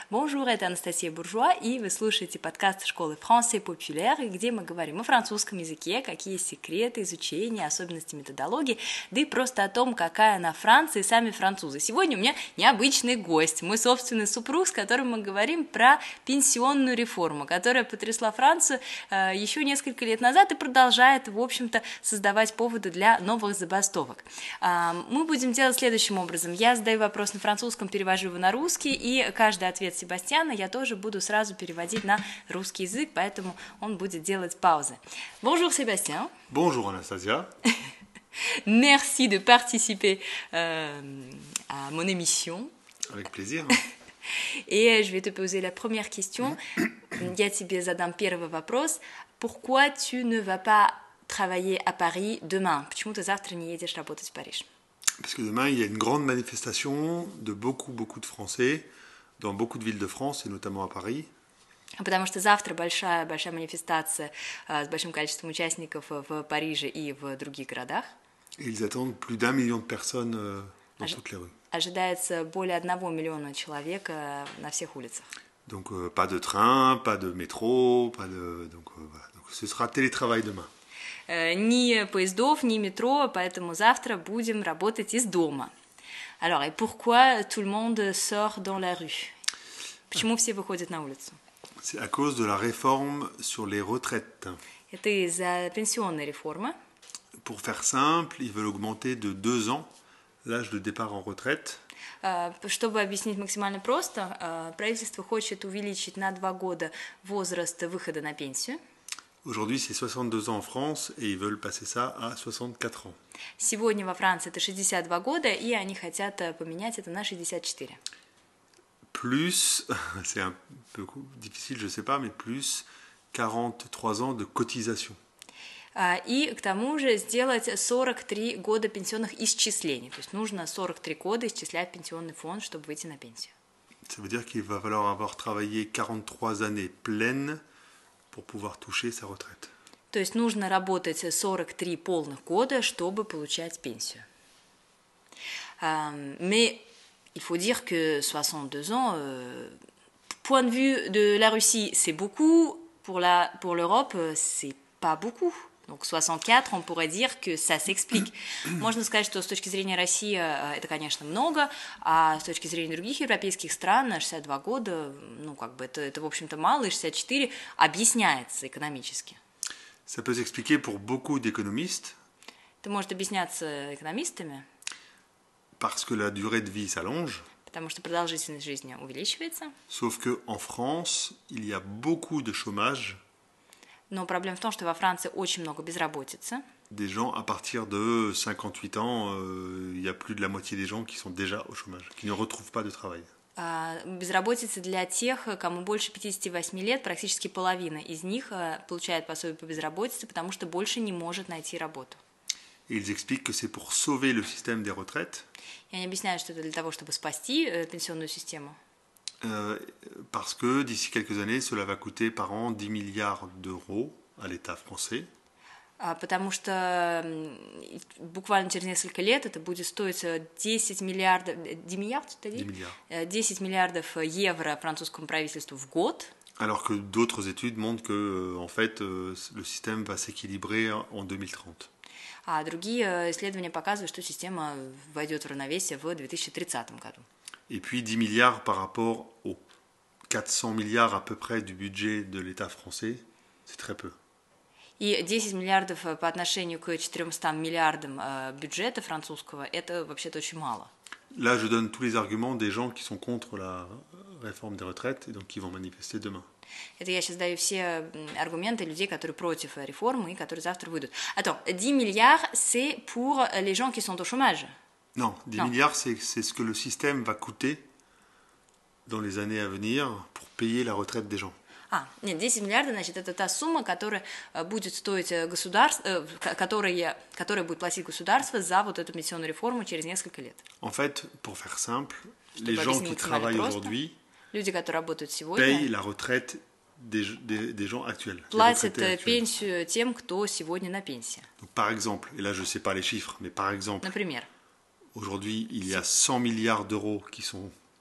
Bonjour, это Анастасия Буржуа, и вы слушаете подкаст школы Français Populaire, где мы говорим о французском языке, какие секреты изучения, особенности методологии, да и просто о том, какая она Франция и сами французы. Сегодня у меня необычный гость, мой собственный супруг, с которым мы говорим про пенсионную реформу, которая потрясла Францию еще несколько лет назад и продолжает, в общем-то, создавать поводы для новых забастовок. Мы будем делать следующим образом. Я задаю вопрос на французском, перевожу его на русский, и каждый ответ Себастьяна я тоже буду сразу переводить на русский язык, поэтому он будет делать паузы. Bonjour Sébastien. Bonjour Anastasia. Merci de participer à mon émission. Avec plaisir. Et je vais te poser la première question. Я тебе задам первый вопрос. Pourquoi tu ne vas pas travailler à Paris demain? Почему ты завтра не едешь работать в Париж? Parce que demain, il y a une grande manifestation de beaucoup de Français dans beaucoup de villes de France, et notamment à Paris. Потому что завтра большая манифестация с большим количеством участников в Париже и в других городах. Et ils attendent plus d'1 million de personnes dans toutes les rues. Ожидается более 1 миллиона человек на всех улицах. Donc pas de train, pas de métro, donc ce sera télétravail demain. Ни поездов, ни метро, поэтому завтра будем работать из дома. Alors, et pourquoi tout le monde sort dans la rue? Почему все выходят на улицу? C'est à cause de la réforme sur les retraites. Это из-за пенсионной реформы. Pour faire simple, ils veulent augmenter de 2 ans l'âge de départ en retraite. Чтобы объяснить максимально просто, правительство хочет увеличить на 2 года возраст выхода на пенсию. Aujourd'hui, c'est 62 ans en France et ils veulent passer ça à 64 ans. Сегодня во Франции это 62 года, и они хотят поменять это на 64. Plus, c'est un peu difficile, je ne sais pas, mais plus 43 ans de cotisation. И к тому же сделать 43 года пенсионных исчислений. То есть нужно 43 года исчислять пенсионный фонд, чтобы выйти на пенсию. Ça veut dire qu'il va falloir avoir travaillé 43 années pleines pour pouvoir toucher sa retraite. То есть нужно работать 43 полных года, чтобы получать пенсию. Mais il faut dire que 62 ans, point de vue de la Russie, c'est beaucoup. Pour l'Europe, c'est pas beaucoup. Donc 64, on pourrait dire que ça s'explique. Можно сказать, что с точки зрения России это, конечно, много, а с точки зрения других европейских стран 62 года, ну, как бы это в общем-то мало, и 64 объясняется экономически. Ça peut s'expliquer pour beaucoup d'économistes. Это может объясняться экономистами. Parce que la durée de vie s'allonge. Потому что продолжительность жизни увеличивается. Sauf qu'en France, il y a beaucoup de chômage. Но проблема в том, что во Франции очень много безработицы. Des gens à partir de 58 ans, il y a plus de la moitié des gens qui sont déjà au chômage, qui ne retrouvent pas de travail. Безработица для тех, кому больше 58 лет, практически половина из них получает пособие по безработице, потому что больше не может найти работу. Et ils expliquent que c'est pour sauver le système des retraites. И они объясняют, что это для того, чтобы спасти пенсионную систему. Parce que d'ici quelques années, cela va coûter par an 10 milliards d'euros à l'État français. Потому что буквально через несколько лет это будет стоить 10 миллиардов, 10 миллиардов евро французскому правительству в год. Alors que d'autres études montrent que, en fait, le système va s'équilibrer en 2030. А другие исследования показывают, что система войдет в равновесие в 2030 году. Et puis 10 milliards par rapport aux 400 milliards à peu près du budget de l'État français, c'est très peu. И 10 миллиардов по отношению к 400 миллиардам бюджета французского, это вообще-то очень мало. Là, je donne tous les arguments des gens qui sont contre la réforme des retraites et donc qui vont manifester demain. Это я сейчас dаю все аргументы людей, которые против реформы и которые завтра выйдут. Attends, 10 milliards, c'est pour les gens qui sont au chômage. Non, 10 milliards, c'est ce que le système va coûter dans les années à venir pour payer la retraite des gens. Нет, 10 миллиардов, значит, это та сумма, которая будет стоить государство, которая будет платить государство за вот эту пенсионную реформу через несколько лет. En fait, pour faire simple, les gens qui travaillent aujourd'hui люди, которые работают сегодня, payent la retraite des gens actuels. Платят пенсию тем, кто сегодня на пенсии. Donc, par exemple, et là je ne sais pas les chiffres, mais par exemple, Например, aujourd'hui il y a 100 milliards d'euros qui sont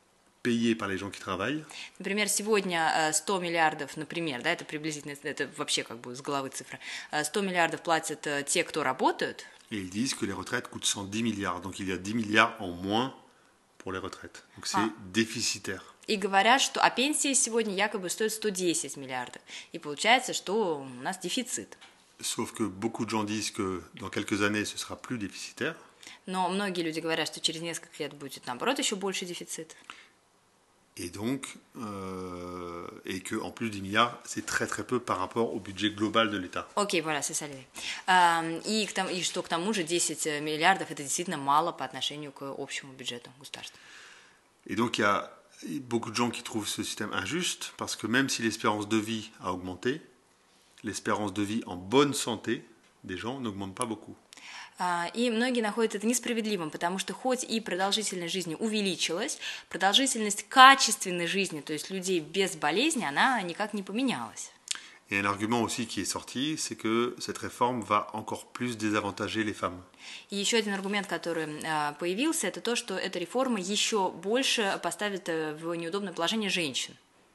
payés par les gens qui travaillent. Например, сегодня 100 миллиардов, например, да, это приблизительно, это вообще как бы с головы цифра, 100 миллиардов платят те, кто работают. Et ils disent que les retraites coûtent 110 milliards. Donc il y a 10 milliards en moins pour les retraites. Donc c'est déficitaire. И говорят, что пенсии сегодня якобы стоят 110 миллиардов. И получается, что у нас дефицит. Sauf que beaucoup de gens disent que dans quelques années, ce sera plus déficitaire. Но многие люди говорят, что через несколько лет будет, наоборот, еще больше дефицит. Et donc, et que en plus 10 milliards, c'est très très peu par rapport au budget global de l'État. Окей, voilà, c'est ça l'idée. И что к тому же 10 миллиардов это действительно мало по отношению к общему бюджету государства. Et donc il y a beaucoup de gens qui trouvent ce système injuste parce que même si l'espérance de vie a augmenté, l'espérance de vie en bonne santé des gens n'augmente pas beaucoup. И многие находят это несправедливым, потому что хоть и продолжительность жизни увеличилась, продолжительность качественной жизни, то есть людей без болезни, она никак не поменялась. Et un argument aussi qui est sorti, c'est que cette réforme va encore plus désavantager les femmes. И еще один аргумент, который появился, это то, что эта реформа еще больше поставит в неудобное положение женщин.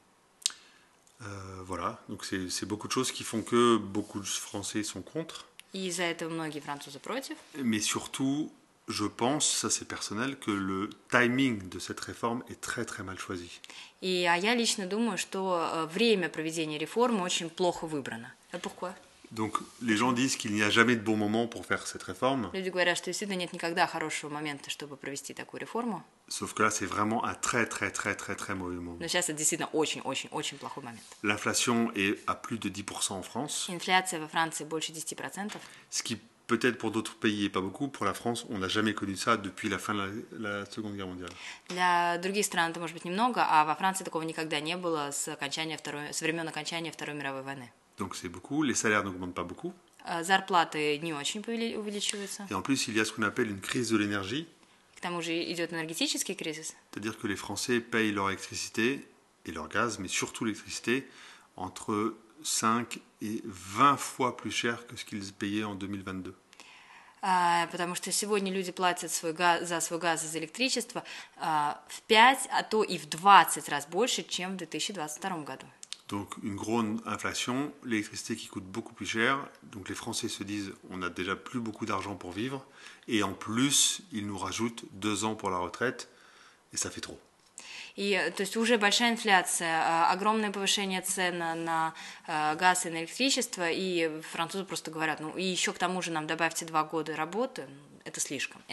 Voilà, donc c'est beaucoup de choses qui font que beaucoup de Français sont contre. И из-за этого многие французы против. Mais surtout, je pense, ça c'est personnel, que le timing de cette réforme est très très mal choisi. А я лично думаю, что время проведения реформы очень плохо выбрано. Pourquoi? Donc les gens disent qu'il n'y a jamais de bon moment pour faire cette réforme. Люди говорят, что действительно нет никогда хорошего момента, чтобы провести такую реформу. Sauf que là, c'est vraiment un très très très très très mauvais moment. Но сейчас это действительно очень плохой момент. L'inflation est à plus de 10% en France. Инфляция во Франции больше 10%. Ce qui peut-être pour d'autres pays est pas beaucoup. Pour la France, on n'a jamais connu ça depuis la fin de la Seconde Guerre mondiale. Для других стран это может быть немного, а во Франции такого никогда не было с времен окончания Второй мировой войны. Donc c'est beaucoup. Les salaires n'augmentent pas beaucoup. Зарплаты не очень увеличиваются. Et en plus, il y a ce qu'on appelle une crise de l'énergie. К тому же идет энергетический кризис. C'est-à-dire que les Français payent leur électricité et leur gaz, mais surtout l'électricité, entre 5 et 20 fois plus cher que ce qu'ils payaient en 2022. Потому что сегодня люди платят за свой газ и за электричество в 5, а то и в 20 раз больше, чем в 2022 году. Donc une grande inflation, l'électricité qui coûte beaucoup plus cher, donc les Français se disent on n'a déjà plus beaucoup d'argent pour vivre, et en plus ils nous rajoutent 2 ans pour la retraite, et ça fait trop. И, то есть уже большая инфляция, огромное повышение цен на газ и на электричество, и французы просто говорят, ну и еще к тому же нам добавьте 2 года работы, это слишком.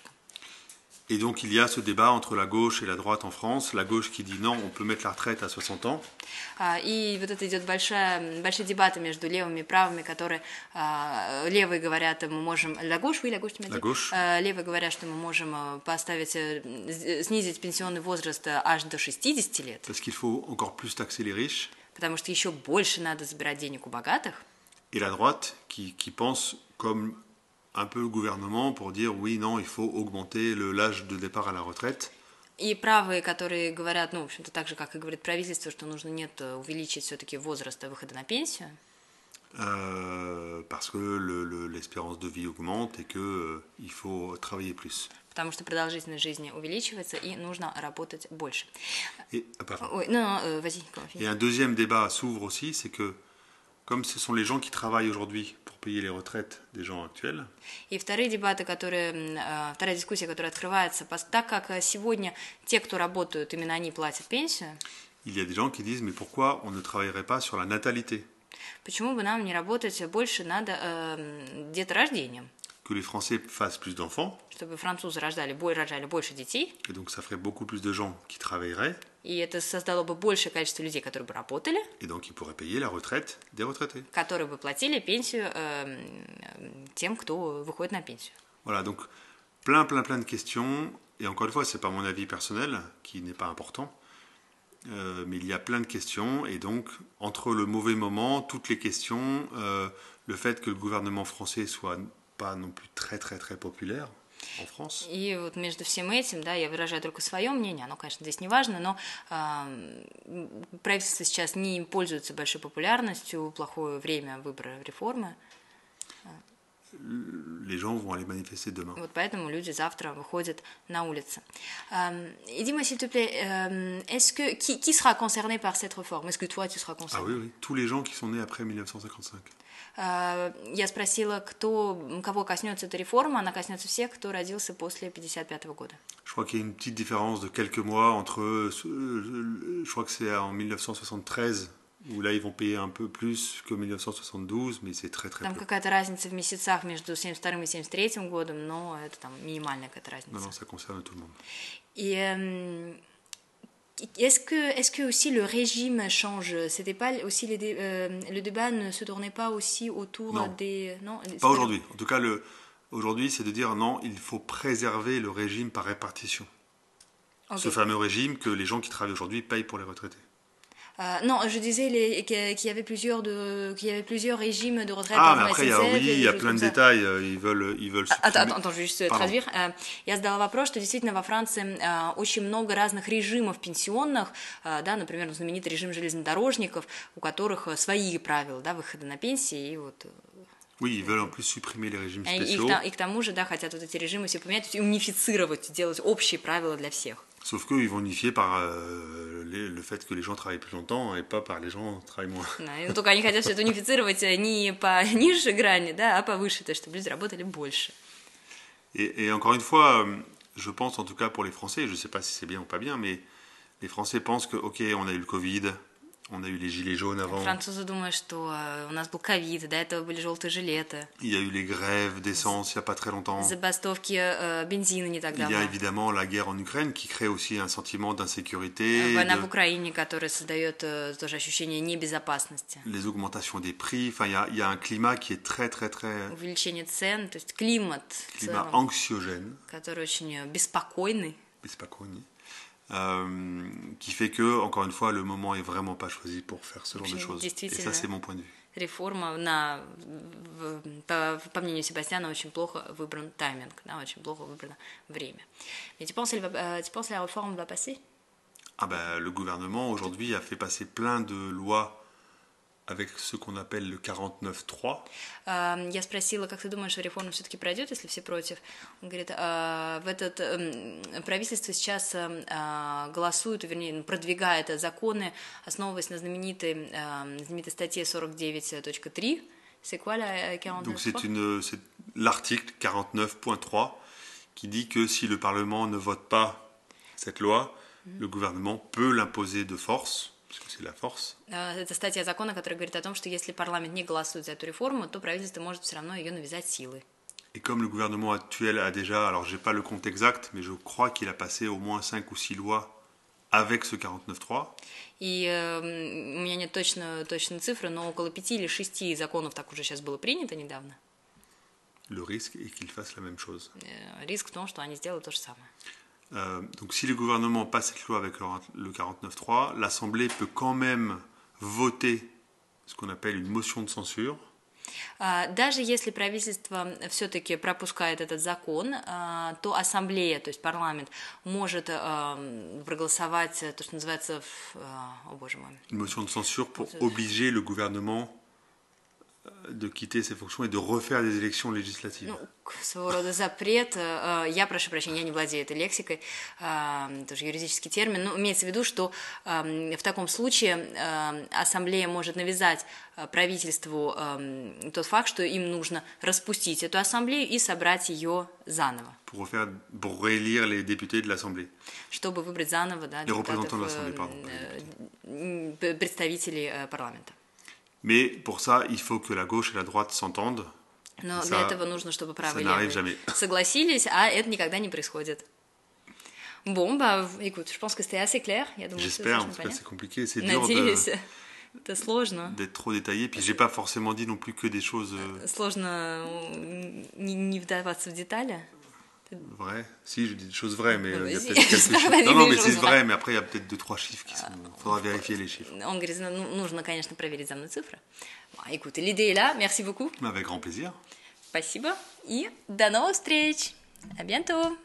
Et donc il y a ce débat entre la gauche et la droite en France, la gauche qui dit non, on peut mettre la retraite à 60 ans. И вот это идет большие дебаты между левыми и правыми, которые левые говорят, мы можем... La gauche, oui, la gauche, tu m'as dit? La gauche. Левые говорят, что мы можем снизить пенсионный возраст аж до 60 лет. Parce qu'il faut encore plus taxer les riches. Потому что еще больше надо забирать денег у богатых. Et la droite qui pense comme un peu le gouvernement pour dire oui, non, il faut augmenter l'âge de départ à la retraite. И правые, которые говорят, ну, в общем-то, так же, как и говорит правительство, что нужно увеличить все-таки возраст выхода на пенсию. Parce que l'espérance de vie augmente et qu'il faut travailler plus. Потому что продолжительность жизни увеличивается и нужно работать больше. Et un deuxième débat s'ouvre aussi, c'est que comme ce sont les gens qui travaillent aujourd'hui pour payer les retraites des gens actuels. И вторая дискуссия, которая открывается, так как сегодня те, кто работают, именно они платят пенсию. Il y a des gens qui disent mais pourquoi on ne travaillerait pas sur la natalité? Почему бы нам не работать больше над деторождением? Que les Français fassent plus d'enfants. Чтобы французы рожали больше детей. Et donc ça ferait beaucoup plus de gens qui travailleraient. И это создало бы большее количество людей, которые бы работали. Et donc ils pourraient payer la retraite des retraités. Которые бы платили пенсию тем, кто выходит на пенсию. Voilà, donc plein de questions. Et encore une fois, c'est pas mon avis personnel, qui n'est pas important. Mais il y a plein de questions. Et donc, entre le mauvais moment, toutes les questions, le fait que le gouvernement français soit pas non plus très populaire en France. И вот между всем этим, да, я выражаю только свое мнение, оно, конечно, здесь не важно, но правительство сейчас не пользуется большой популярностью, плохое время выбора реформы. les gens vont aller manifester demain. Вот поэтому люди завтра выходят на улицы. Et dis-moi s'il te plaît, est-ce que qui sera concerné par cette réforme? Est-ce que toi tu seras concerné? Ah oui, oui, tous les gens qui sont nés après 1955. Я спросила, кого коснется эта реформа, она коснется всех, кто родился после 1955 года. Je crois qu'il y a une petite différence de quelques mois entre, je crois que c'est en 1973, où là ils vont payer un peu plus que 1972, mais c'est très très Там peu. какая-то разница в месяцах между 1972 и 1973 годом, но это там минимальная какая-то разница. Non, non, ça concerne tout le monde. Et est-ce que aussi le régime change? C'était pas aussi le débat ne se tournait pas aussi autour Non. des Pas aujourd'hui. En tout cas, aujourd'hui, c'est de dire non, il faut préserver le régime par répartition. Ok. Ce fameux régime que les gens qui travaillent aujourd'hui payent pour les retraités. Non, je disais qu'il y avait plusieurs régimes de retraite. Ah, mais après, il y a plein de détails. Ils veulent supprimer. Attends, je vais juste traduire. Я задала вопрос, что действительно во Франции очень много разных режимов пенсионных, да, например, знаменитый режим железнодорожников, у которых свои правила, да, выхода на пенсии, и вот... Oui, ils veulent en plus supprimer les régimes spéciaux. И к тому же, да, хотят вот эти режимы все поменять, и унифицировать, сделать общие правила для всех. Sauf qu'eux, ils vont unifier par le fait que les gens travaillent plus longtemps et pas par les gens travaillent moins. Но только они хотят все это унифицировать не по ниже грани, да, а повыше, то есть чтобы люди работали больше. Et encore une fois, je pense en tout cas pour les Français, je ne sais pas si c'est bien ou pas bien, mais les Français pensent que, ok, on a eu le Covid, on a eu les gilets jaunes avant. Французы думают, что у нас был ковид, до этого были желтые жилеты. Il y a eu les grèves d'essence il n'y a pas très longtemps. Забастовки бензина не так Il y a давно. évidemment la guerre en Ukraine qui crée aussi un sentiment d'insécurité. Война в Украине, которая создает тоже ощущение небезопасности. Les augmentations des prix. Enfin, il y a un climat qui est très, très, très... Увеличение цен, то есть климат, Climat anxiogène. который очень беспокойный. Qui fait que, encore une fois, le moment est vraiment pas choisi pour faire ce genre de choses. Et ça, c'est mon point de vue. Реформа, по мнению Себастьяна, очень плохо выбран тайминг, да, очень плохо выбрано время. Et tu penses la réforme va passer? Ah ben, le gouvernement, aujourd'hui, a fait passer plein de lois avec ce qu'on appelle le 49.3. Я спросила, как ты думаешь, реформа все-таки пройдет, если все против? Он говорит, правительство сейчас голосует, вернее, продвигает законы, основываясь на знаменитой статье 49.3. C'est quoi la 49.3? Donc c'est l'article 49.3 qui dit que si le Parlement ne vote pas cette loi, le gouvernement peut l'imposer de force. Parce que c'est la force. Это статья закона, которая говорит о том, что если парламент не голосует за эту реформу, то правительство может все равно ее навязать силой. Et comme le gouvernement actuel a déjà, alors j'ai pas le compte exact, mais je crois qu'il a passé au moins 5 ou 6 lois avec ce 49.3. И у меня нет точной цифры, но около 5 или 6 законов так уже сейчас было принято недавно. Le risque est qu'ils fassent la même chose. Риск в том, что они сделают то же самое. Donc si le gouvernement passe cette loi avec le 49.3, l'Assemblée peut quand même voter ce qu'on appelle une motion de censure. Даже если правительство все-таки пропускает этот закон, то ассамблея, то есть парламент, может проголосовать то, что называется, о боже мой. Une motion de censure pour obliger le gouvernement de quitter ses fonctions et de refaire des élections législatives. Ну, своего рода запрет. Я прошу прощения, я не владею этой лексикой, тоже юридический термин, но имеется в виду, что в таком случае ассамблея может навязать правительству тот факт, что им нужно распустить эту ассамблею и собрать ее заново. Pour réélire les députés de l'Assemblée. Чтобы выбрать заново, да, представителей парламента. Mais pour ça, il faut que la gauche et la droite s'entendent. Но для этого нужно, чтобы правые и левые согласились, а это никогда не происходит. Bon, bah, écoute, je pense que c'était assez clair. J'espère, parce que c'est compliqué, c'est dur это сложно. D'être trop détaillé. Puis j'ai pas forcément dit non plus que des choses. Сложно не вдаваться в детали. Vrai. Si, je dis des choses vraies, mais il y a peut-être quelques chiffres. Non, mais c'est vrai, mais après, il y a peut-être 2-3 chiffres qui sont... Il faudra vérifier les chiffres. Он говорит, нужно, конечно, проверить за мной цифры. Écoute, l'idée est là. Merci beaucoup. Avec grand plaisir. Спасибо. И до новых встреч. À bientôt.